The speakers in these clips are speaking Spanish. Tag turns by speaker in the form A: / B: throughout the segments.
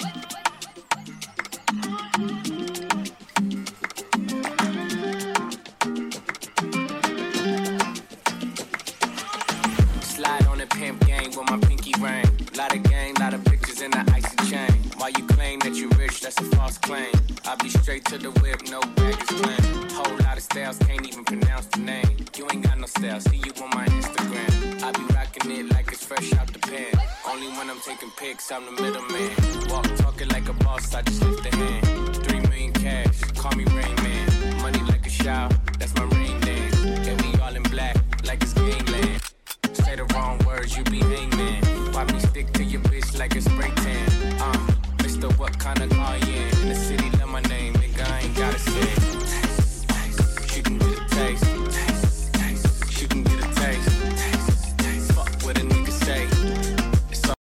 A: Slide on the pimp gang with my pinky ring. Lot of gang, lot of pictures in the icy chain. While you claim that you rich, that's a false claim. I be straight to the whip, no baggage claim. Whole lot of styles, can't even pronounce the name. You ain't got no style, see you on my Instagram. I be rocking it like it's fresh out the pan. Only when I'm taking pics, I'm the middleman. Walk talking like a boss, I just lift a hand. 3 million cash, call me Rain Man. Money like a shower, that's my rain dance. And we all in black, like it's gangland. Say the wrong words, you be hangman. Why me stick to your bitch like a spray tan? Mr. What kind of car you in? In the city, love my name, nigga, I ain't gotta say it. Taste, taste, she can get a taste. Taste, taste, she can get a taste. Taste, taste, fuck what a nigga say. It's all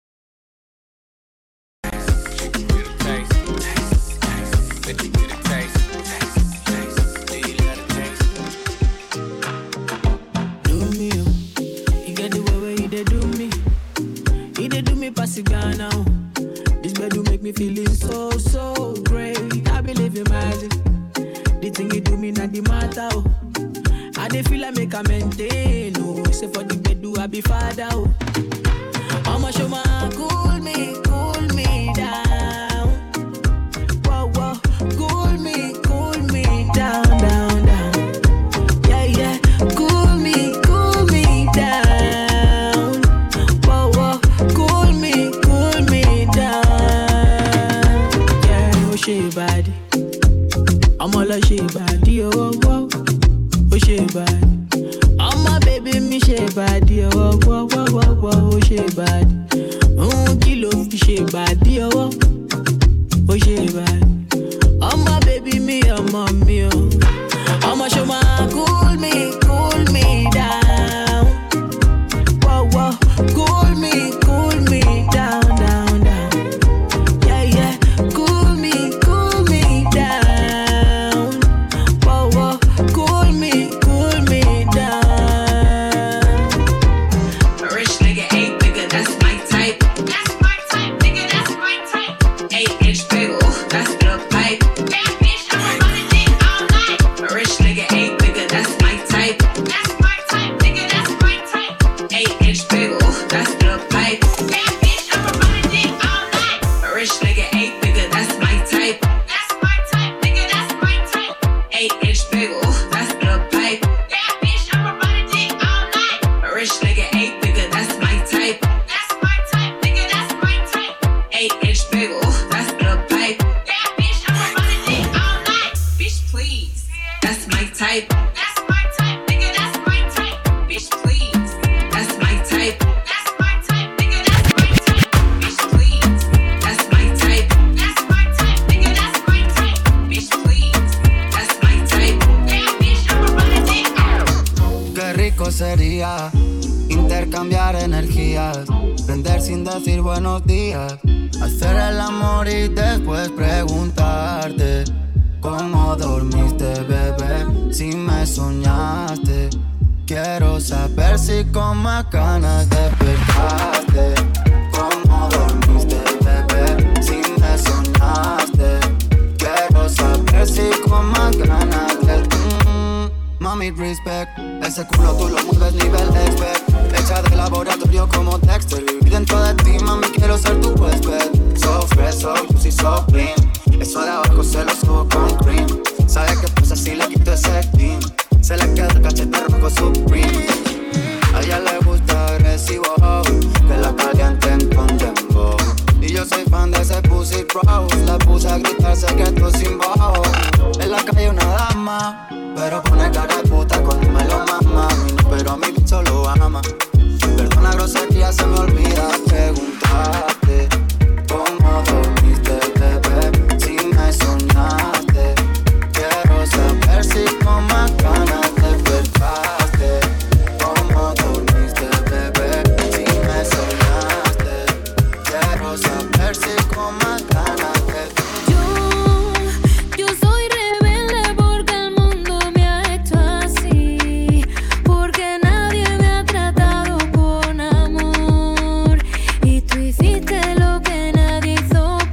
A: she can get a taste. Taste, taste, let you get a taste. Taste, taste, do you let a taste?
B: Do me, you get the way where you dey do me. You dey do me pass it down now. This bed do make me feeling so, so great. I believe in magic. The thing you do me not the matter. Oh. I dey feel like make a maintain. Oh. Say for the bed do I be father. Oh. I'ma show my cool me down. Whoa, whoa, cool me down, down, down. Yeah, yeah, cool me down. Whoa, whoa, cool me down. Yeah, oh she body. I'm all a she body, oh, oh, oh she body. I'm my baby, me she body, oh, oh, oh, oh, oh she body. Kilo she body, oh, oh she body. I'm my baby, me, I'm on me, oh. I'ma show my cool me down. Whoa, whoa, cool me down, down, down. Yeah, yeah, cool me down. Whoa, whoa, cool me down.
C: A rich nigga, 8 nigga, that's my type. That's my type, nigga, that's my type. 8-inch bagel, that's the pipe. Bad bitch, I'ma run it in all night. A rich nigga, 8 nigga, that's my type. That's my type, nigga, that's my type. 8-inch bagel, that's the pipe. Bad bitch, I'ma run it in all night. A rich nigga, 8 nigga, that's my type. That's my type, nigga, that's my type. 8-inch bagel, that's the pipe. Bad bitch, I'ma run it in all night. A rich nigga, 8 nigga, that's my type. That's my type, nigga, that's my type. 8-inch bagel, that's the pipe. Bad bitch, I'ma run it in all night. Bitch, please, that's my type. That's my type, nigga, that's my type. Bitch, please, that's my type. That's my type, nigga, that's my type. Bitch, please, that's my type. That's my type, nigga, that's my type. Bitch, please, that's my type. Bad bitch, I'ma run it in all night.
D: Qué rico sería intercambiar energías, prender sin decir buenos días, hacer el amor y después preguntarte cómo dormiste, bebé, si me soñaste. Quiero saber si con más ganas despertaste. Cómo dormiste, bebé, si me soñaste. Quiero saber si con más ganas Mami, respect. Ese culo tú lo mueves nivel expert. Hecha de laboratorio como Dexter. Viví dentro de ti, mami, quiero ser tu huésped. So fresh, so juicy, so clean. Eso de abajo se lo subo con cream. ¿Sabe qué pasa si le quito ese clean? Se le queda el cachete rojo Supreme. A ella le gusta agresivo, que la calienten con dembow. Y yo soy fan de ese pussy bro. La puse a gritar secretos sin bajo. En la calle una dama, pero pone cara de puta cuando me lo mama. Pero a mi bicho lo ama. Perdona grosería, se me olvida preguntarte cómo dormiste, bebé, si me soñaste. Quiero saber si con más ganas despertaste. Cómo dormiste, bebé, si me soñaste. Quiero saber si con más ganas despertaste.
E: Yo soy rebelde porque el mundo me ha hecho así, porque nadie me ha tratado con amor, y tú hiciste lo que nadie hizo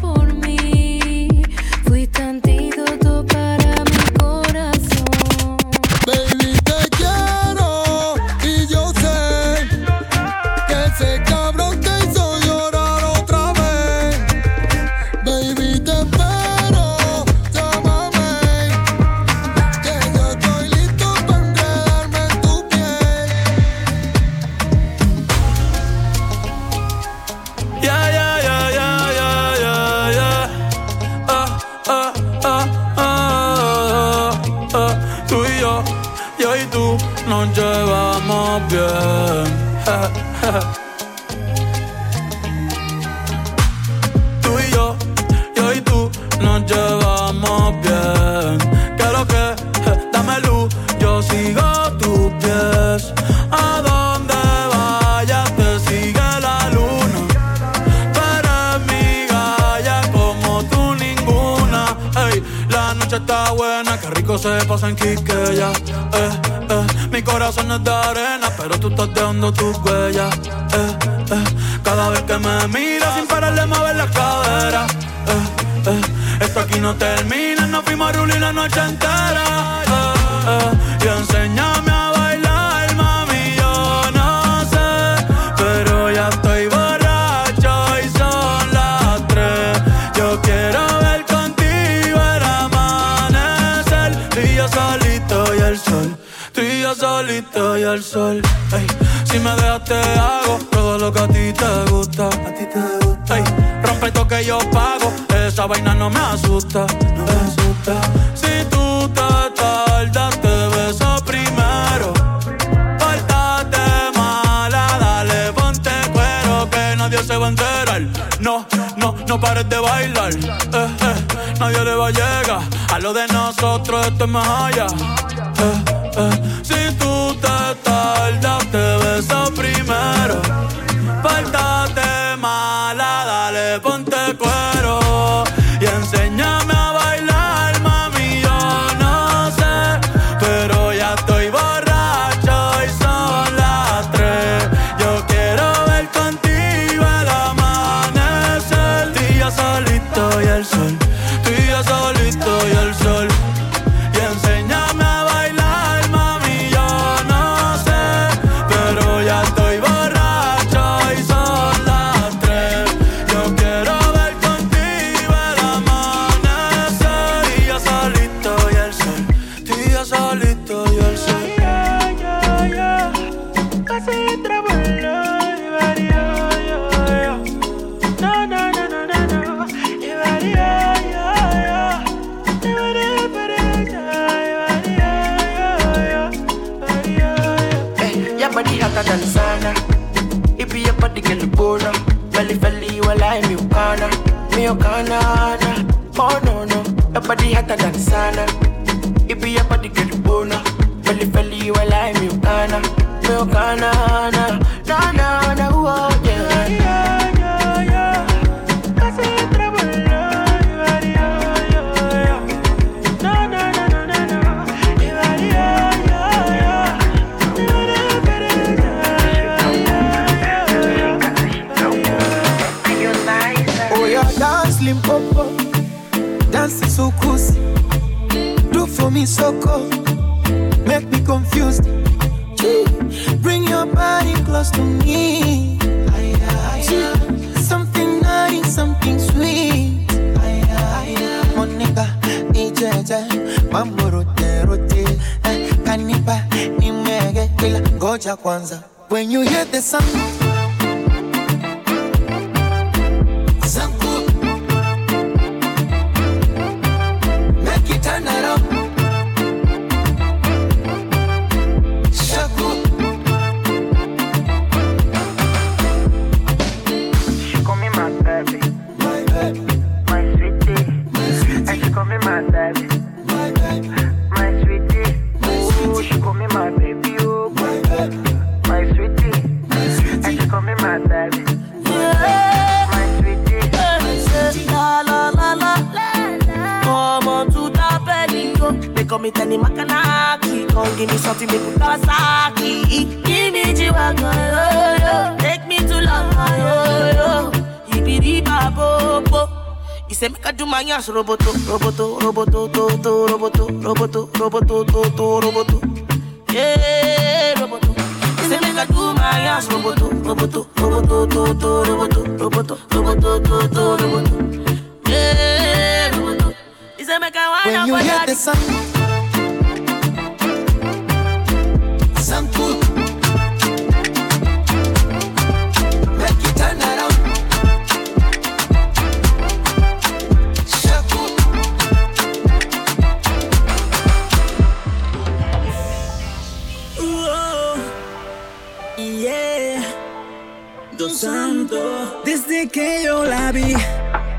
F: nos llevamos bien. Tú y yo y tú nos llevamos bien. ¿Qué es lo que? Dame luz, yo sigo tus pies. A donde vayas te sigue la luna. Tú eres mi galla como tú ninguna. Ey, la noche está buena, qué rico se pasa en Quiqueya. Mi corazón es de arena, pero tú estás dejando tus huellas. Cada vez que me miras sin pararle mover la cadera. Esto aquí no termina, nos fuimos a rulir la noche entera. Y enséñame a bailar, mami, yo no sé, pero ya estoy borracho y son las 3. Yo quiero ver contigo el amanecer. Tú y yo solito y el sol. Tú y yo solito y el sol. Ey, si me dejas te hago todo lo que a ti te gusta. A ti te gusta. Ey, rompe esto que yo pago. Esa vaina no me asusta. No me asusta. Si tú te tardas te beso primero. Pórtate mala, dale ponte cuero que nadie se va a enterar. No pares de bailar. Nadie le va a llegar a lo de nosotros, esto es más allá. Si tú te tardas, te beso primero. Pórtate mala, dale, ponte cuero. Y enséñame a bailar, mami, yo no sé, pero ya estoy borracho y son las 3. Yo quiero ver contigo el amanecer. Tú y yo solito y el sol. Tú y yo solito y el sol. Y enséñame a bailar, mami, yo no sé, pero ya estoy borracho y son las 3. Yo quiero ver contigo el amanecer. Tú y yo solito y el sol. Tú y yo solito y el sol. Casi trabajo.
G: Body hotter than sauna. If you body get the bono, belly you alive, me ukana. Oh no, your body hotter than sauna. If you body get the bono, belly you alive, me ukana. Na, oh yeah.
H: Limpopo, dance so cozy. Do for me so cold, make me confused. Bring your body close to me. Something nice, something sweet. Monica, ijeje, mambo rote. Kanipa, nimege, kila ngoja kwanza. When you hear the sound, turn around. Shaku.
G: She call me my baby.
H: My baby.
G: My sweetie.
H: My sweetie.
G: And she call me my baby.
H: My baby.
G: My sweetie.
H: My
G: Ooh,
H: sweetie.
G: she call me my baby. Oh,
H: my baby.
G: My sweetie.
H: My sweetie.
G: And she call me my baby.
B: Yeah.
G: My sweetie.
B: My sweetie. La la la la. Come on to the belly, go. They call me Tenny Makanaki. Come give me something, they put Kawasaki. Give me G-Wagon, yo. Take me to love, yo. Ibidi Babobo. He say make I do my ass roboto. Yeah, roboto. He say make I do my ass roboto. Yeah, roboto. He say make I wind up.
H: When you hear the sound cool, make you turn around. Shaku.
B: Ooh,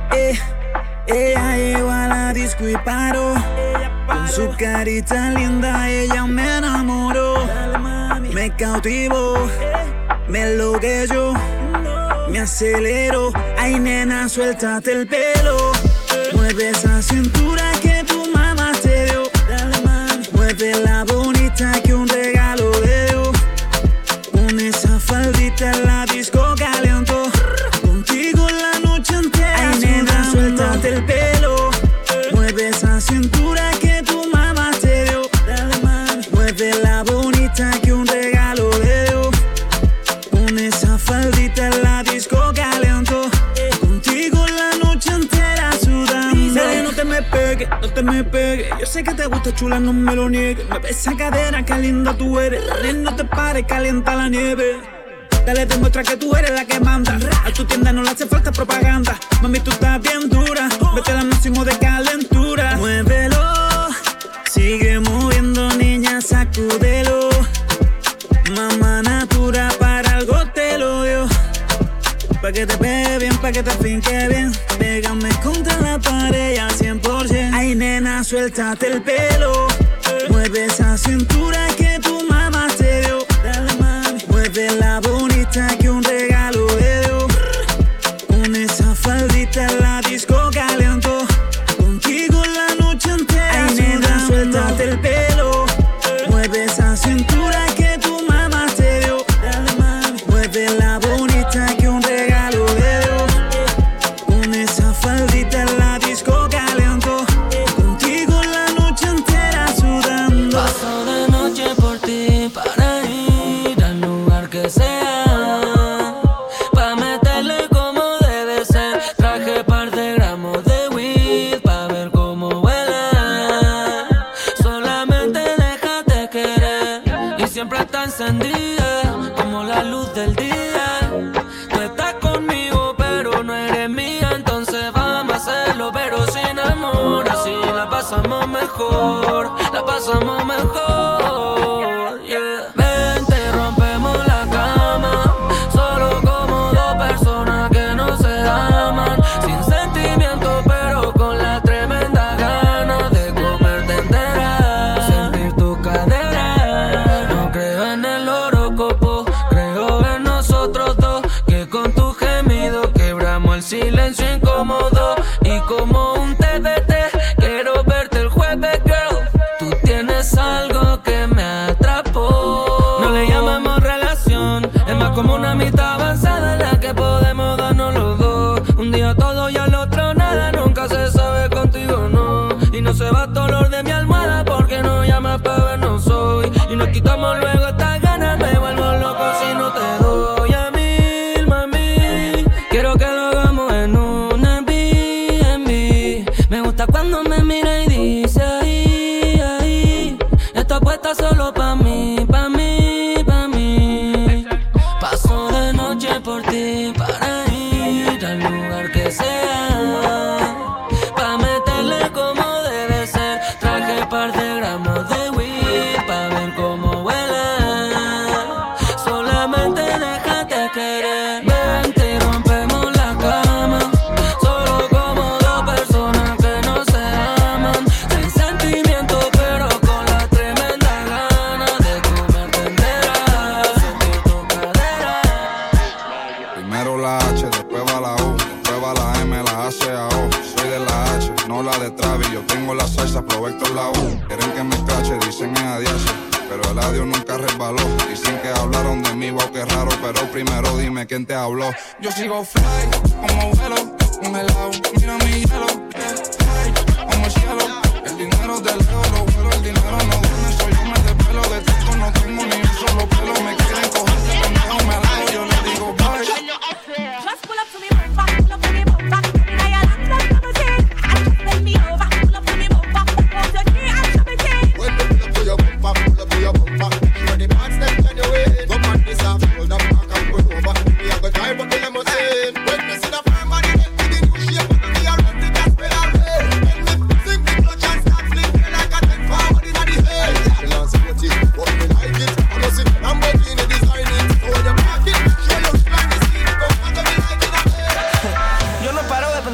B: Ella llegó a la disco y paró. Con su carita linda ella me enamoró. Me cautivó, me enloqueció, me aceleró. Ay, nena, suéltate el pelo. Mueve esa cintura que tu mamá te dio. Mueve la bonita que un regalo le dio. Con esa faldita en la disco calentó. Contigo la noche entera. Ay, nena, suéltate el pelo. Mueve esa cintura que tu mamá te dio. Mueve la bonita que un regalo le dio. Con esa faldita en la disco calentó. Contigo la noche entera sudando. Dale, no te me pegues, no te me pegues. Yo sé que te gusta, chula, no me lo niegues. Mueve esa cadera, qué linda tú eres. Dale, no te pares, calienta la nieve. Dale, demuestra que tú eres la que manda. A tu tienda no le hace falta propaganda. Mami, tú estás bien dura. Vete al máximo de calentura. Muévelo, sigue moviendo, niña, sacúdelo. Mamá natura, para algo te lo dio. Pa' que te pegue bien, pa' que te finque bien. Pégame contra la pared al 100%. Ay, nena, suéltate el pelo. Mueve esa cintura que tu mamá te dio. Mueve la bonita que un regalo le dio. Con esa faldita en la disco calentó. Contigo la noche entera. Ay, nena, suéltate el pelo. Mueve esa cintura que tu mamá te dio. Mueve la bonita que un regalo le dio. Con esa faldita en la disco calentó. Contigo la noche entera sudando.
I: Paso de noche por ti para ir al lugar que sea, pa' meterle como debe ser. Traje par de gramos de weed pa' ver cómo vuela. Solamente déjate querer y siempre está encendida como la luz del día. Tú estás conmigo pero no eres mía, entonces vamos a hacerlo pero sin amor. Así la pasamos mejor, la pasamos mejor, yeah. Vente, rompemos la cama, solo como dos personas que no se aman. Sin sentimiento pero con la tremenda gana de comerte entera, sentir tu cadera. No creo en el horóscopo, creo en nosotros dos, que con tu gemido quebramos el silencio incómodo. Y como un TBT quiero verte el jueves, girl. Tú tienes algo que me atrapó. No le llamamos relación, es más como una mitad avanzada en la que podemos darnos los dos. Un día todo y al otro nada, nunca se sabe contigo, no. Y no se va el dolor de mi almohada porque no llamas para vernos hoy. Y nos quitamos luego estas ganas, me vuelvo loco si no te doy a mí, mami. Quiero que lo hagamos en un Airbnb. Me gusta cuando me mira y dice ahí, ahí. Está puesta solo pa' mí, pa' mí, pa' mí. Paso de noche por ti para ir al lugar que sea, pa' meterle como debe ser. Traje par de gramos de weed pa' ver cómo vuela. Solamente déjate querer. Vente y rompemos la cama, solo como dos personas que no se aman. Sin sentimiento pero con la tremenda gana de comerte entera, sentir tu cadera.
J: Primero la H, después va la U, después va la M, la A, C, A, O. Soy de la H, no la de Travis. Yo tengo la salsa, aprovecho la U. Quieren que me cache, dicen es adiache, pero el adiós nunca resbaló. Dicen que hablaron de mí, wow, qué raro, pero primero dime quién te habló.
K: Yo sigo fly, como vuelo, congelado, mira mi hielo, fly, como el cielo. El dinero de lejos lo vuelo, el dinero no duele, soy yo me despelo. De tiempo no tengo ni un solo pelo, me quieren coger de pendejo, me alejo, yo le digo bye.
L: Just pull up to me, burn back, pull up to me, burn back. I am not gonna take, I just bend me over, pull up to me, burn back. Hold your knee and show me take.
M: When you pull up to your bumper, pull up to your bumper. Show the parts that on your way. Come on, this off, hold up back and pull over. We have to drive up the limousine. When you see the firm body, get to the new shape, we are ready to get pedal. When we sing the clutch and start flipping like a 10 forward in the head. We love sporty, but we like it. I'm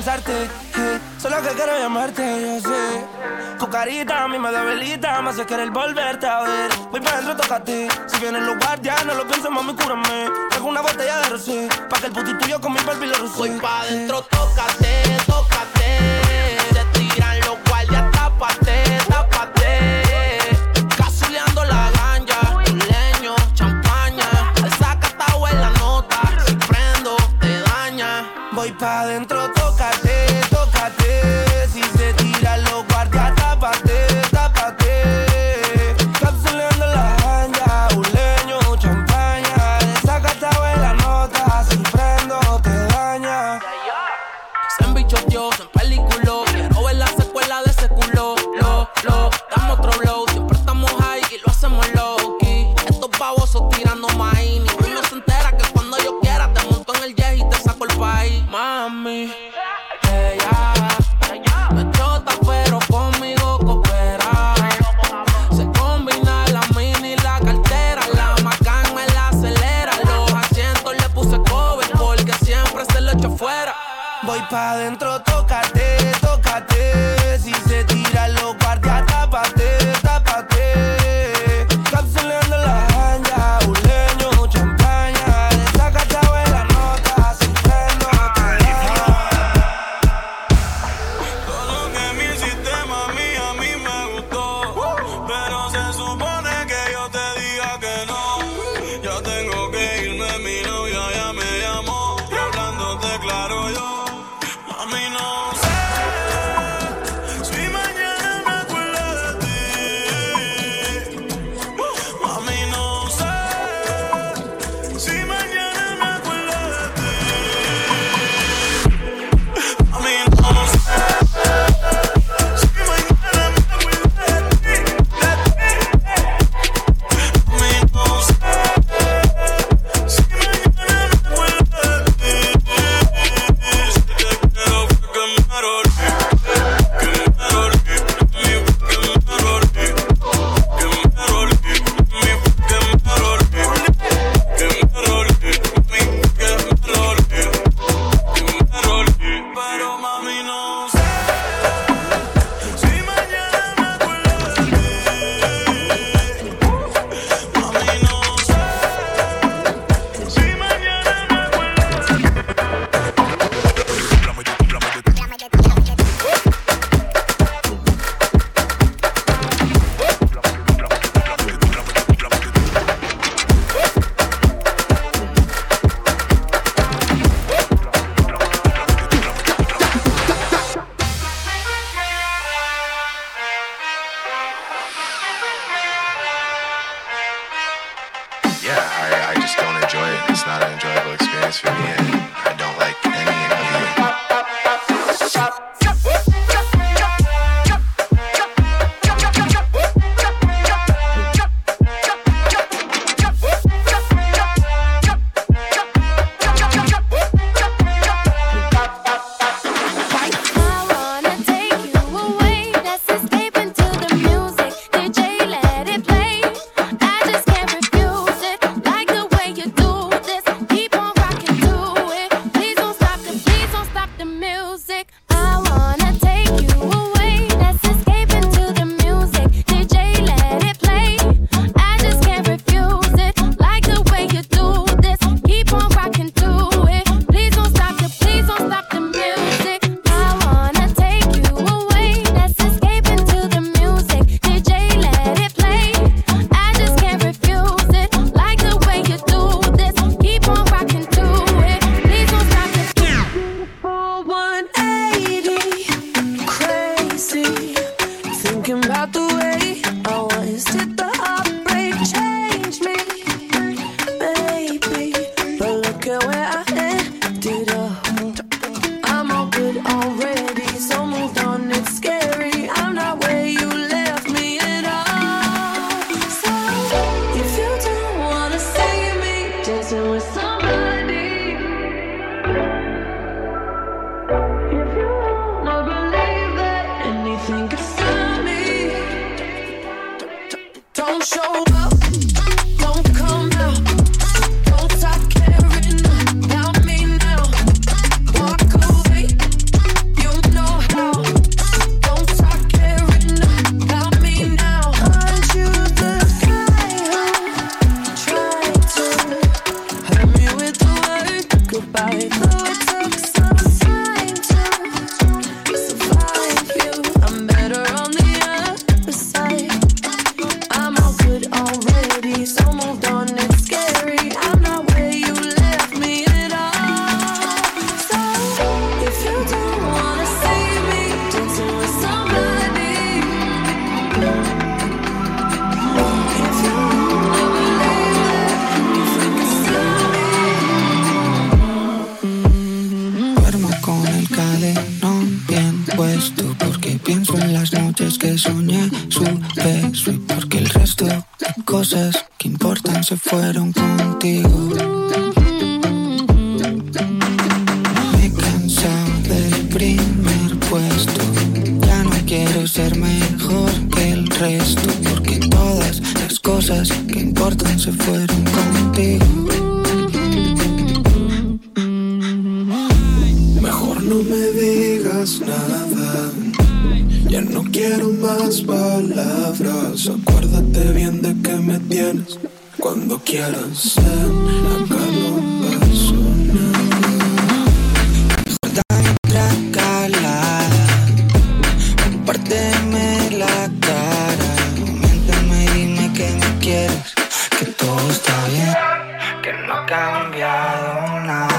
G: pensarte, solo que quiero llamarte, yo sé. Tu carita a mí me debilita, me hace querer volverte a ver. Voy pa' dentro, tócate. Si vienen los guardias, no lo pienses, mami, cúrame. Traigo una botella de rosé, pa' que el puti tuyo con mi Barbie lo rocé.
N: Voy pa' dentro, tócate, tócate. Se tiran los guardias, tápate, tápate. Cazuleando la ganja, leño, champaña. El sacatao en la nota, si prendo, te daña.
G: Voy pa' dentro, tócate, tócate. Si se tiran los guardias, tápate, tápate. Capsuleando la ganja, un leño, champaña. El sacatao en la nota, si prendo, te daña.
N: Se embichoteó, se empeliculó. Quiero ver la secuela de ese culo. Dame otro blow. Siempre estamos high y lo hacemos low key. Estos babosos tirando maíz. Ninguno se entera que cuando yo quiera te monto en el jet y te saco el país. Mami, ella no es chota, pero conmigo coopera. Se combina la mini y la cartera. La Macan me la acelera. Los asientos le puse cover porque siempre se lo echo fuera.
G: Voy pa' dentro, tócate, tócate. Si se tiran los guardias, tápate, tápate. Capsuleando la ganja, un leño, champaña. Le saca chavo en la nota, si prendo, te deja.
F: Todo lo que mi sistema a mí me gustó. Pero se supone que yo te diga que no. Ya tengo que irme, mi novia ya me llamó. Y hablándote claro yo. A mí no sé si mañana me acuerdo de ti. A mí no sé si mañana me acuerdo de ti. A mí no sé si mañana me acuerdo de ti. A mí no sé si mañana me acuerdo de ti. Pero mami no sé si mañana me acuerdo de ti. Mami no sé si mañana me acuerdo de ti.
O: Yeah, I just don't enjoy it. It's not an enjoyable experience for me, and I don't like any of it.
E: I wanna take you away. Let's escape into the music. DJ, let it play. I just can't refuse it. Like the way you do this. Keep on rocking to it. Please don't stop the music. I wanna take you away. Let's escape into the music. DJ, let it play. I just can't refuse it. Like the way you do this. Keep on rocking to it. Please don't stop the music. I wanna take you away. Let's escape into the music. DJ, let it play. I just can't refuse it. Like the way you do this. Keep on rocking to it. Please don't stop the
I: Full 180, crazy. Thinking about the way I was. Did the heartbreak change me, baby? But look at where I ended up. I'm all good already, so moved on. It's scary. I'm not where you left me at all. So if you don't wanna see me dancing with somebody. If you wanna believe that anything could stop me, don't show up, don't come out, don't stop caring about me now. Walk away,
P: freno bien puesto, porque pienso en las noches que soñé su beso y porque el resto de cosas que importan se fueron contigo. Me he cansado del primer puesto, ya no quiero ser mejor que el resto, porque todas las cosas que importan se fueron contigo.
H: Mejor no me digas nada, ya no quiero más palabras. Acuérdate bien de que me tienes cuando quieras. Acá no pasó nada.
P: Mejor dame otra calada, compárteme la cara, miénteme y dime que me quieres, que todo está bien, que no ha cambiado nada.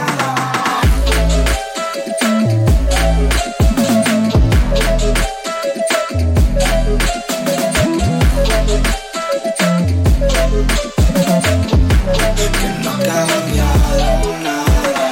P: Que no ha cambiado nada.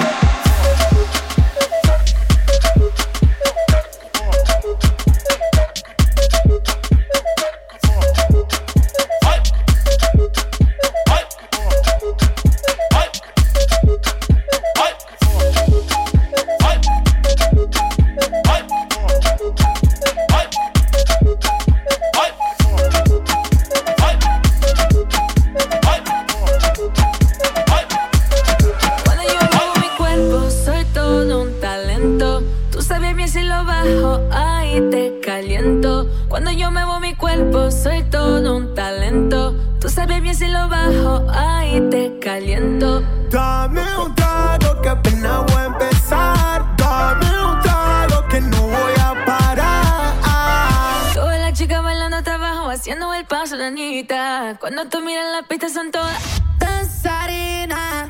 Q: Cuando yo muevo mi cuerpo soy todo un talento. Tú sabes bien si lo bajo, ahí te caliento.
H: Dame un trago que apenas voy a empezar. Dame un trago que no voy a parar.
Q: Todas las chicas bailando hasta abajo, haciendo el paso de Anita. Cuando tú miras la pista son todas danzarinas,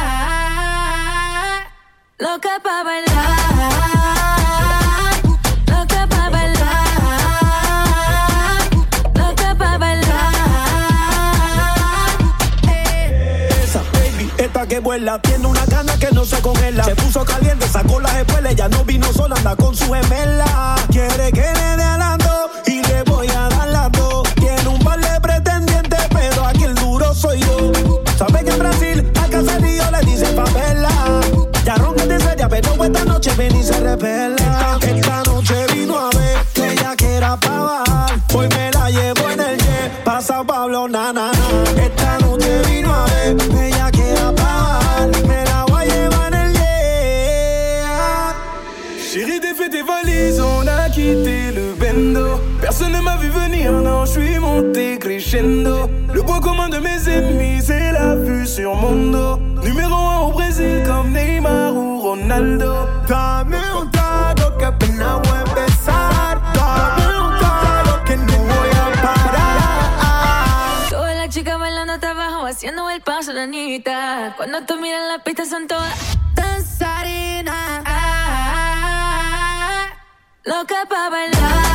Q: loca pa' bailar.
H: Que vuela, tiene una gana que no se congela. Se puso caliente, sacó las espuelas. Ya no vino sola, anda con su gemela. Quiere que le dé alando y le voy a dar las dos. Tiene un par de pretendientes, pero aquí el duro soy yo. Sabe que en Brasil a Caserío le dicen favela. Ya ronca de seria, pero esta noche ven y se repela. Esta noche vino a ver que ella quiera pa' bajar. Hoy me la llevo en el jet, pasa Pablo, na, na, na. Esta noche vino a ver que ella quiera pa' bajar. Me la voy a llevar en el jet.
R: Chérie, défais tes valises, on a quitté le bendo. Personne ne m'a vu venir, non, je suis monté crescendo. Le point commun de mes ennemis, c'est la vue sur mon dos. Numéro 1 au Brésil, comme Neymar ou Ronaldo.
H: Dame un trago que apenas voy a empezar. Dame un trago que no voy a parar.
Q: Todas las chicas bailando hasta abajo, haciendo el paso de Anita. Cuando tú miras la pista son todas danzarinas, loca pa' bailar.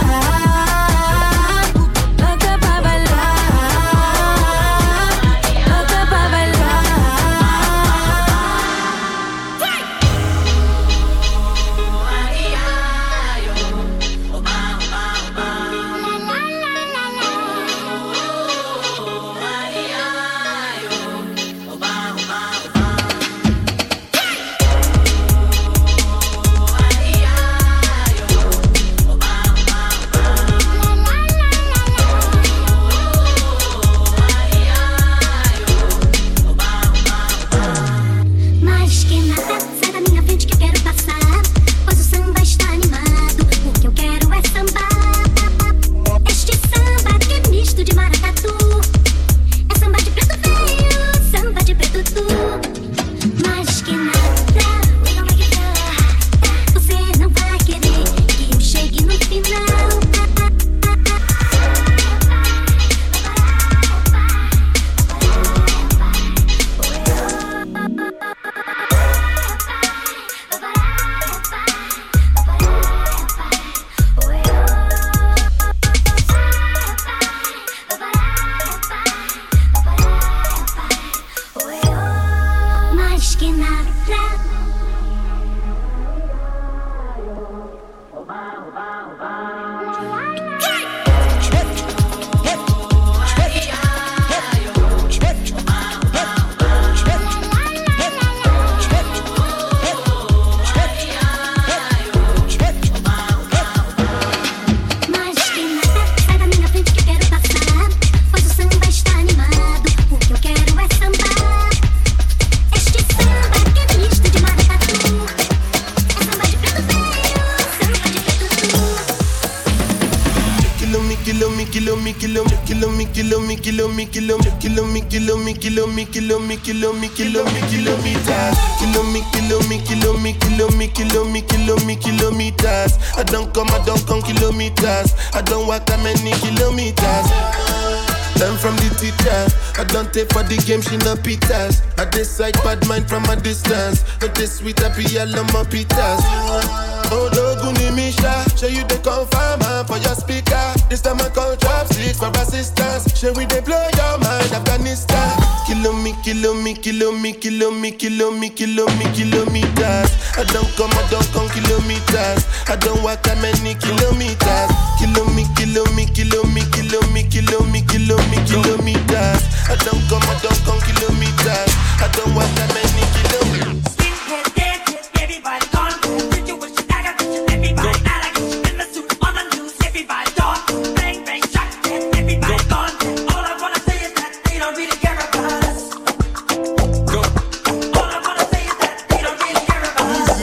G: Kilometers. I don't come kilometers. I don't walk that many kilometers. Learn from the teacher. I don't take for the game, she no pitas. I decide bad mind from a distance. Not this sweet, I be all on my pitas. Oh, no, Guni Misha. Show you the confirm for your speaker. This time I call chopsticks for assistance. Show we they blow your mind, Afghanistan. Kilometers. I don't come kilometers. I don't walk that many kilometers. Kilometers. I don't come kilometers. I don't walk that many kilometers.
L: Everybody gone. Situation, I got everybody. I like it in the suit on the news. Everybody gone. Bang, bang, shot, everybody gone. All I wanna say is that they don't really care about us. All I wanna say is that they don't really care about us.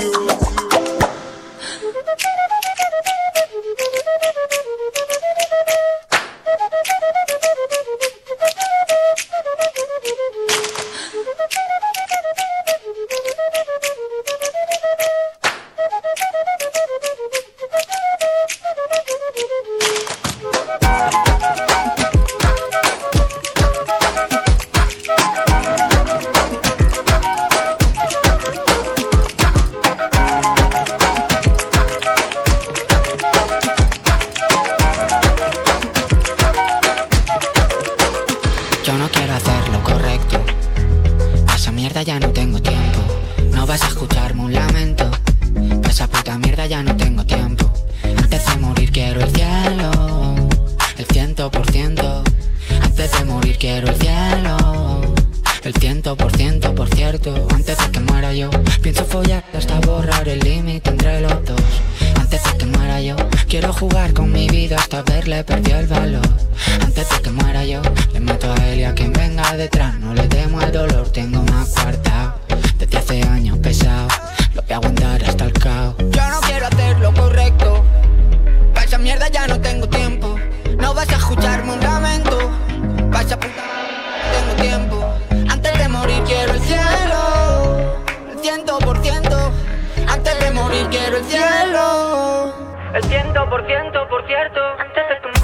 P: Yo no quiero hacer lo correcto. A esa mierda ya no tengo tiempo. No vas a escucharme un lamento. A esa puta mierda ya no tengo tiempo. Antes de morir quiero el cielo, el 100%. Antes de morir quiero el cielo, el 100%, por cierto. Antes de que muera yo pienso follar hasta borrar el límite entre los dos. Antes de que muera yo quiero jugar con mi vida hasta verle perdió el valor. Antes de que muera yo le meto a él y a quien venga detrás. No le temo al dolor, tengo más cuartao. Desde hace años pesado, lo voy a aguantar hasta el caos. Yo no quiero hacer lo correcto. Pa' esa mierda ya no tengo tiempo. No vas a escucharme un lamento. Pa' esa puta tengo tiempo. Antes de morir quiero el cielo, el 100%. Antes de morir quiero el cielo, el 100%, por cierto. Antes de tu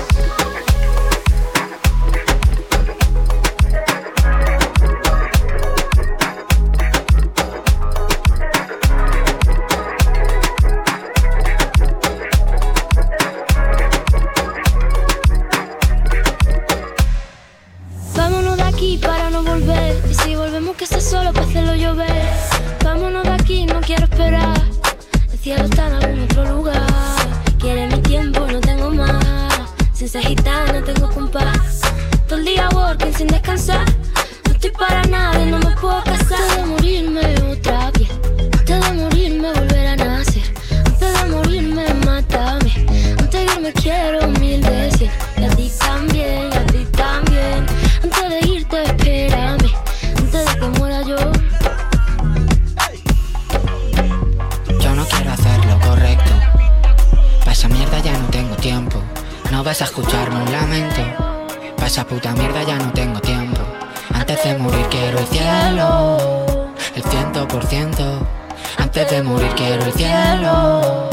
E: Vámonos de aquí para no volver. Y si volvemos que esté solo para hacerlo llover. Vámonos de aquí, no quiero esperar. El cielo está en algún otro lugar. Quiere mi tiempo, no tengo más. Sin ser gitana, no tengo compás. Todo el día working sin descansar. No estoy para nada y no me puedo casar. Antes de morirme otra vez. Antes de morirme volver a nacer. Antes de morirme mátame. Antes de irme quiero 1000 veces. Y a ti también, y a ti también. Antes de irte espérame. Antes de que muera yo.
P: Yo no quiero hacer lo correcto. Pa' esa mierda ya no tengo tiempo. No vas a escucharme un lamento. Pa' esa puta mierda ya no tengo tiempo. Antes de morir quiero el cielo, el 100%. Antes de morir quiero el cielo.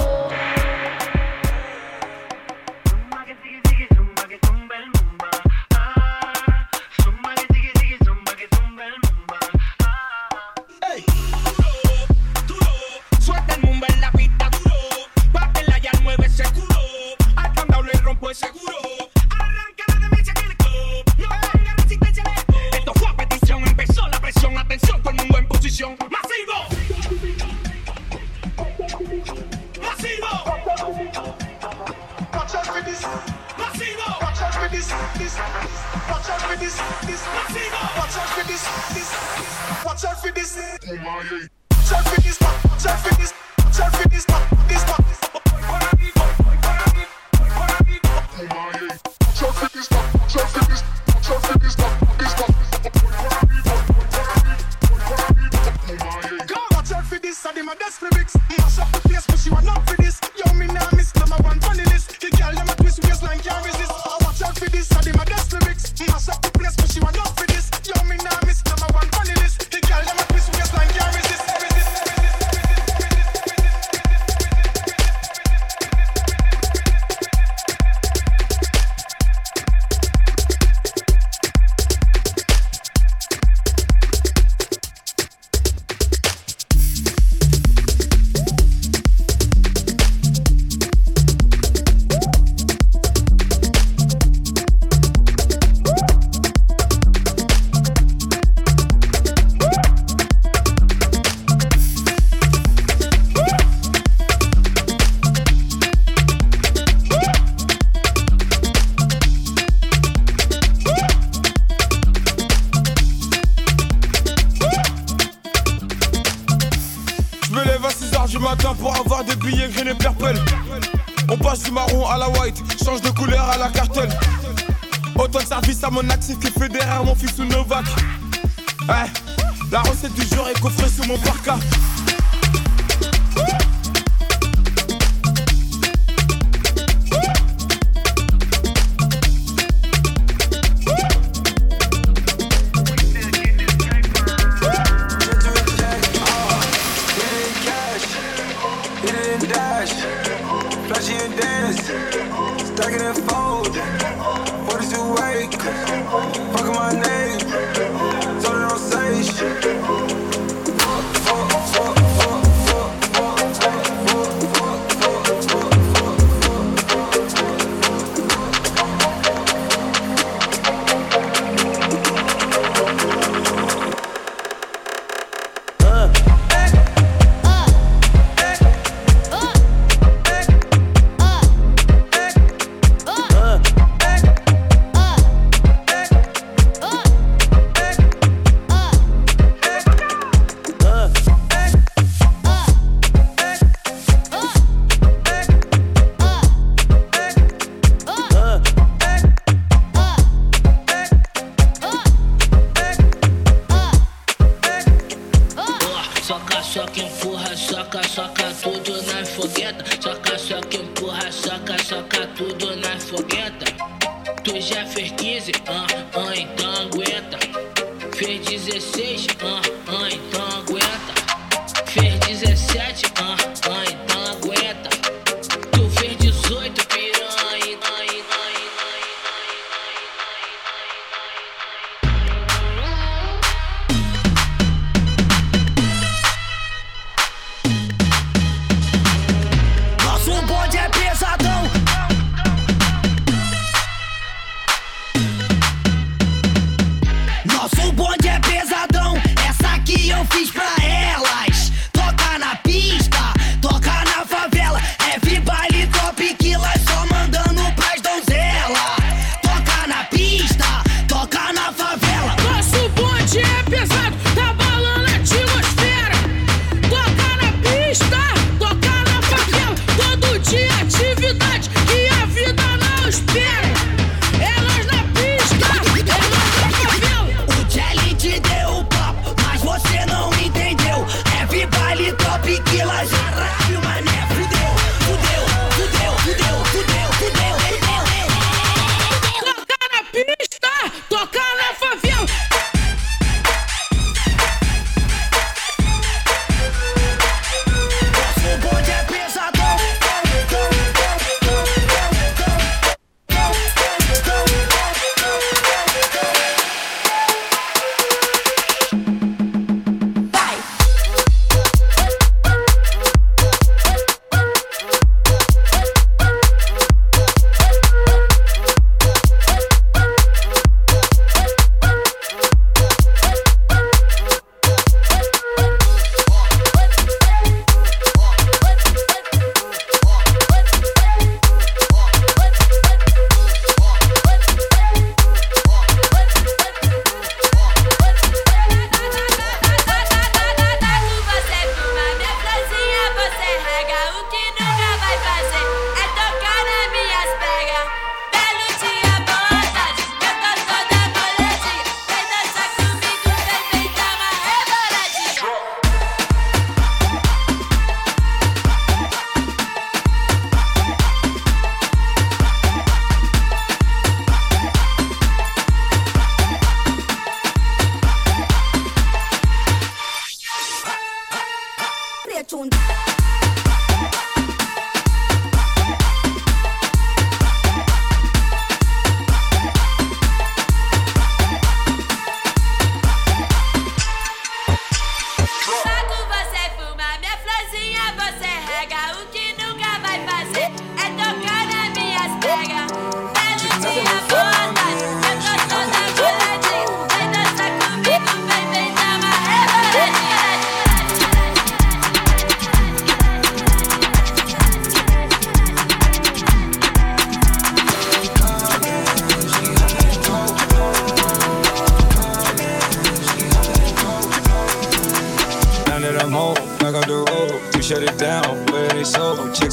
S: Suelta el mumbo en la pista duro. Pátela ya mueve ese culo. Al candado le rompo el seguro. Arranca la demencia que le co. No tenga resistencia de esto. Esto fue a petición, empezó la presión. Atención, todo el mundo en posición. ¡Masivo! ¡Masivo! this. Watch out for this. Watch out for this. Watch out for this. Watch out for this. Watch out for this. Watch out for this. Watch out for this. This one. Watch out for this, I did my best lyrics. Mash up the place, but she want not for this. Yo, me now miss number one funny list. The girl them a twist waistline can't resist. Watch out for this, I did my best lyrics. Mash up the place, but she want not for this. Yo, me now miss number one funny list. The girl them a twist waistline can't resist.
R: Pour avoir des billets green et purple. On passe du marron à la white, change de couleur à la cartelle. Autant de service à mon actif que Federer, mon fils ou Novak. Ouais, la recette du jour est coffrée sous mon parka.
T: Nosso bonde é pesadão, essa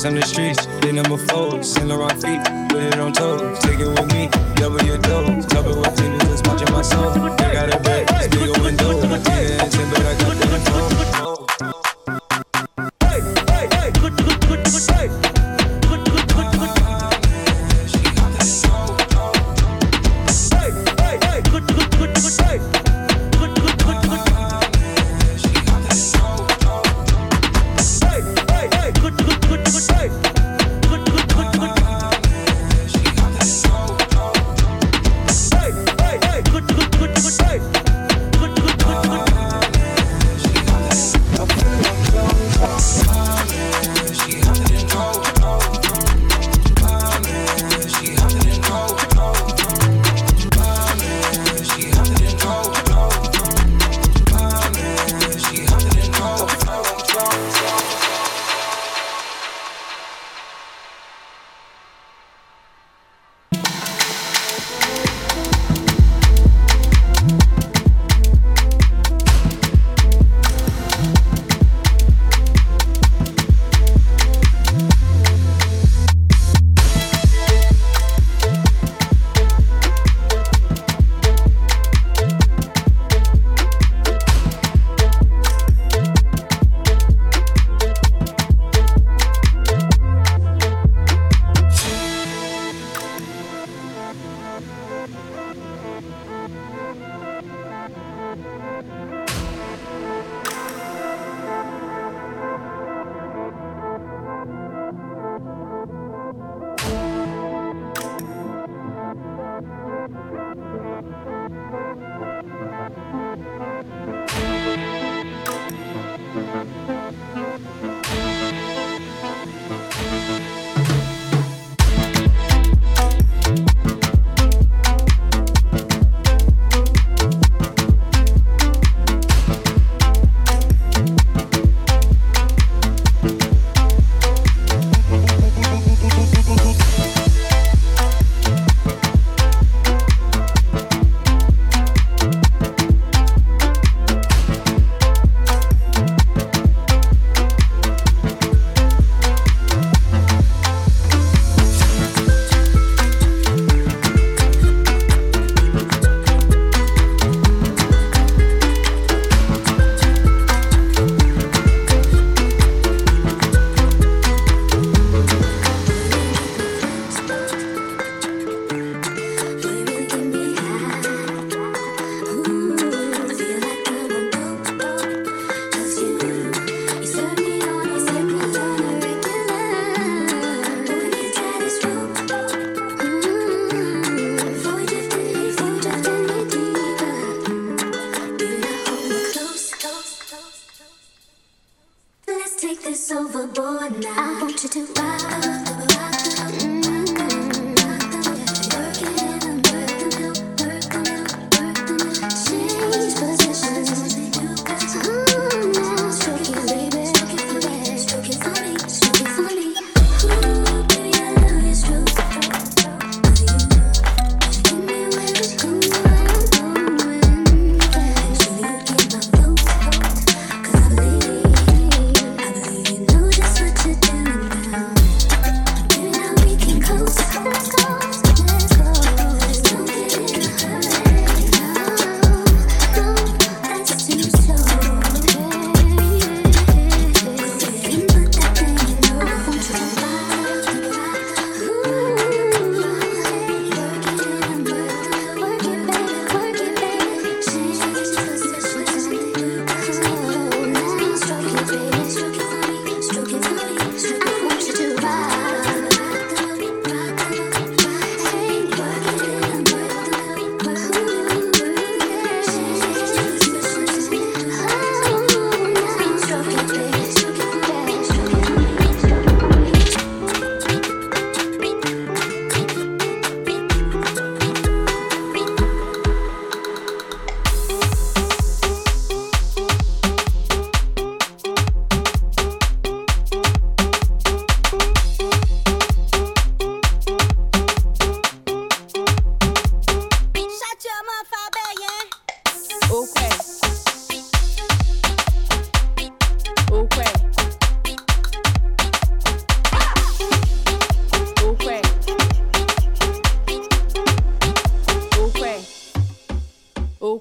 T: on the streets, they number 4, Saint Laurent feet, put it on toes, take it with me, double your dose, cover with tennis, just watching my soul. I got a bag, big old window, yeah, but I got the control.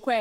U: que.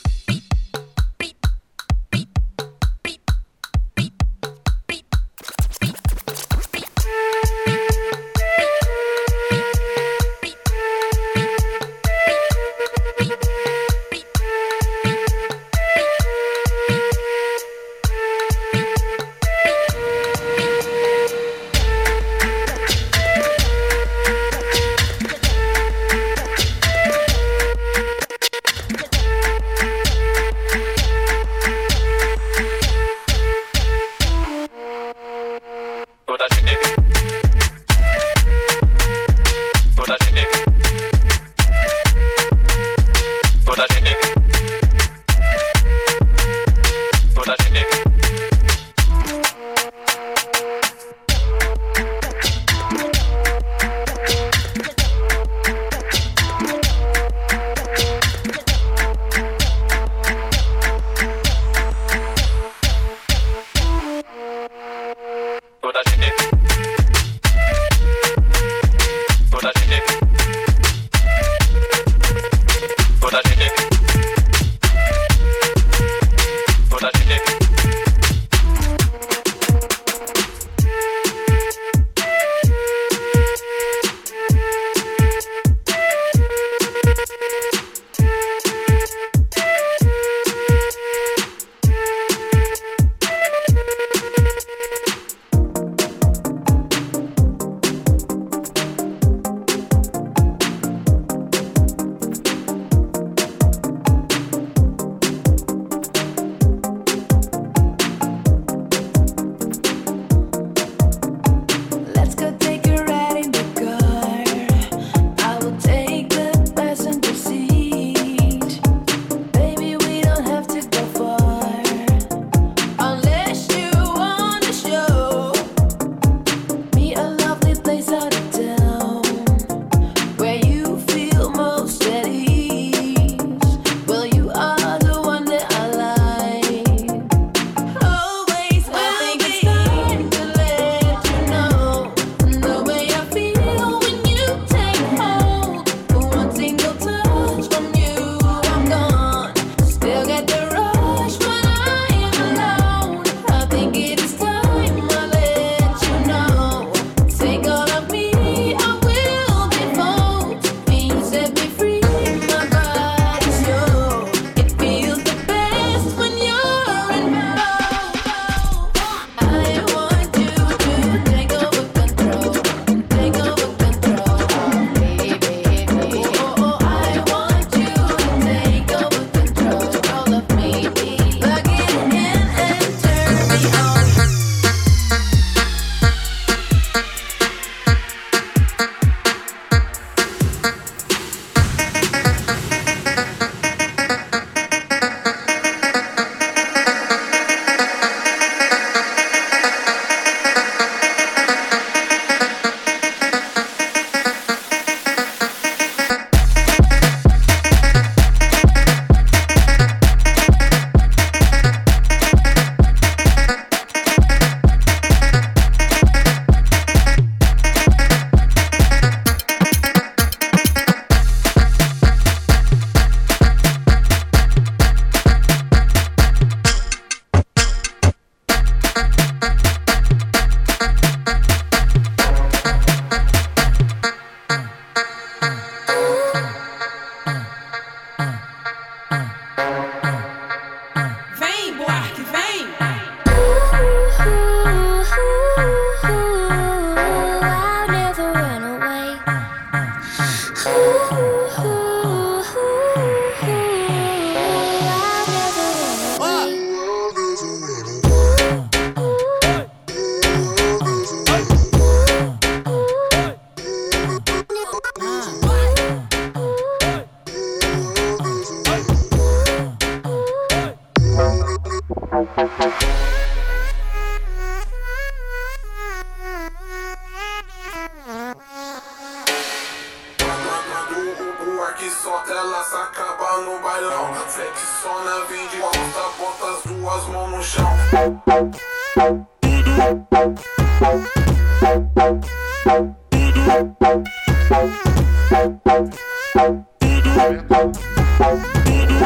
V: que solta, ela se acaba no bailão. Flexiona, vem de costa, bota as duas mãos no chão.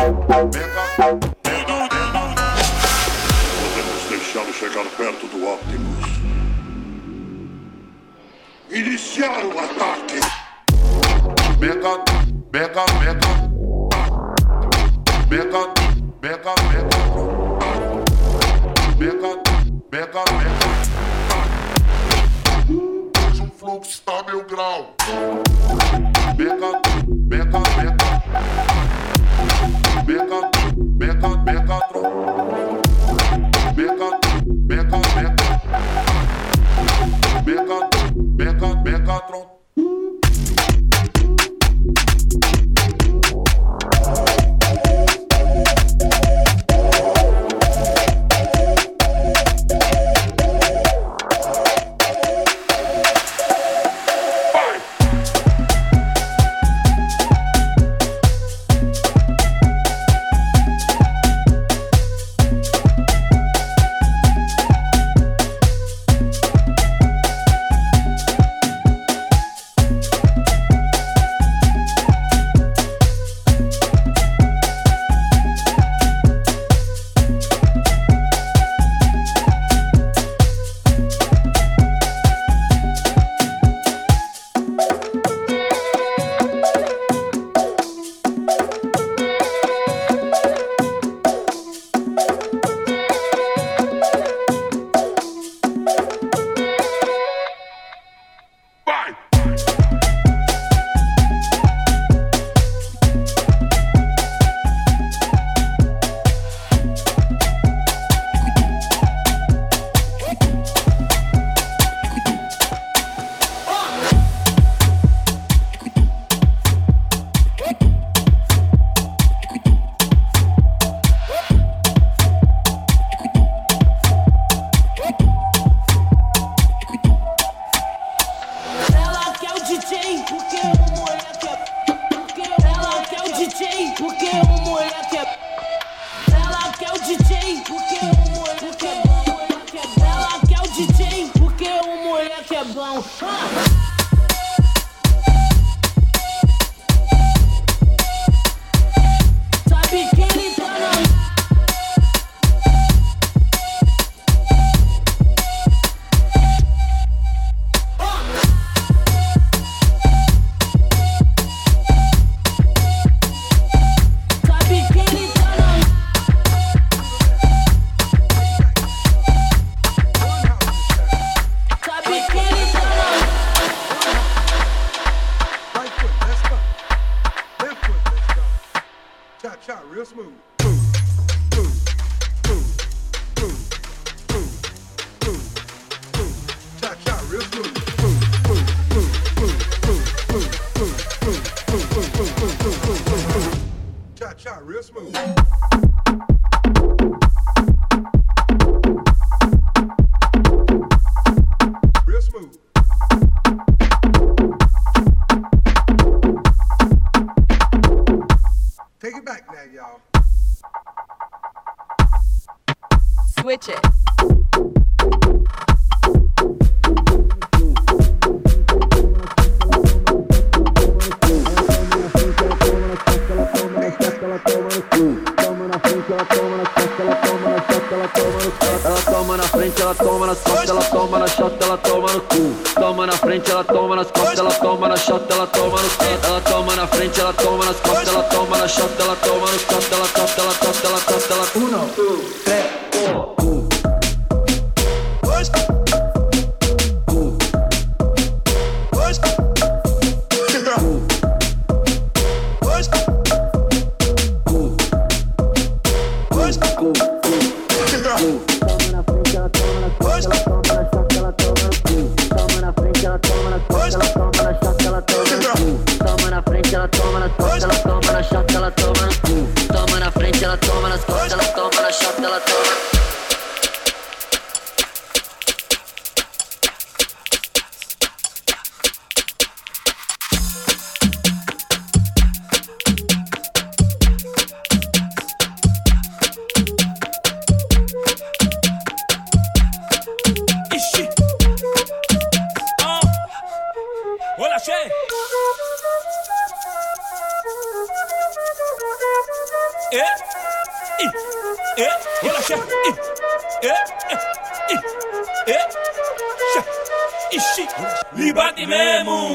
A: Podemos deixá-lo chegar perto do Optimus. Iniciar o ataque.
V: Megatron.
A: Hoje um fluxo está a 1000 graus.
V: Megatron.
U: Switch it.
W: Ela toma na frente, ela toma nas costas, ela toma na chota, ela toma no cu. Toma na frente, ela toma nas costas, ela toma na chota, ela toma no cu. Ela toma na frente, ela toma nas costas, ela toma na chota, ela toma no costa, ela costa, ela costa, ela costa, ela 1, 2, 3, 4.
C: relaxa, ixi, me bate mesmo.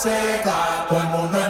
B: seca, todo el mundo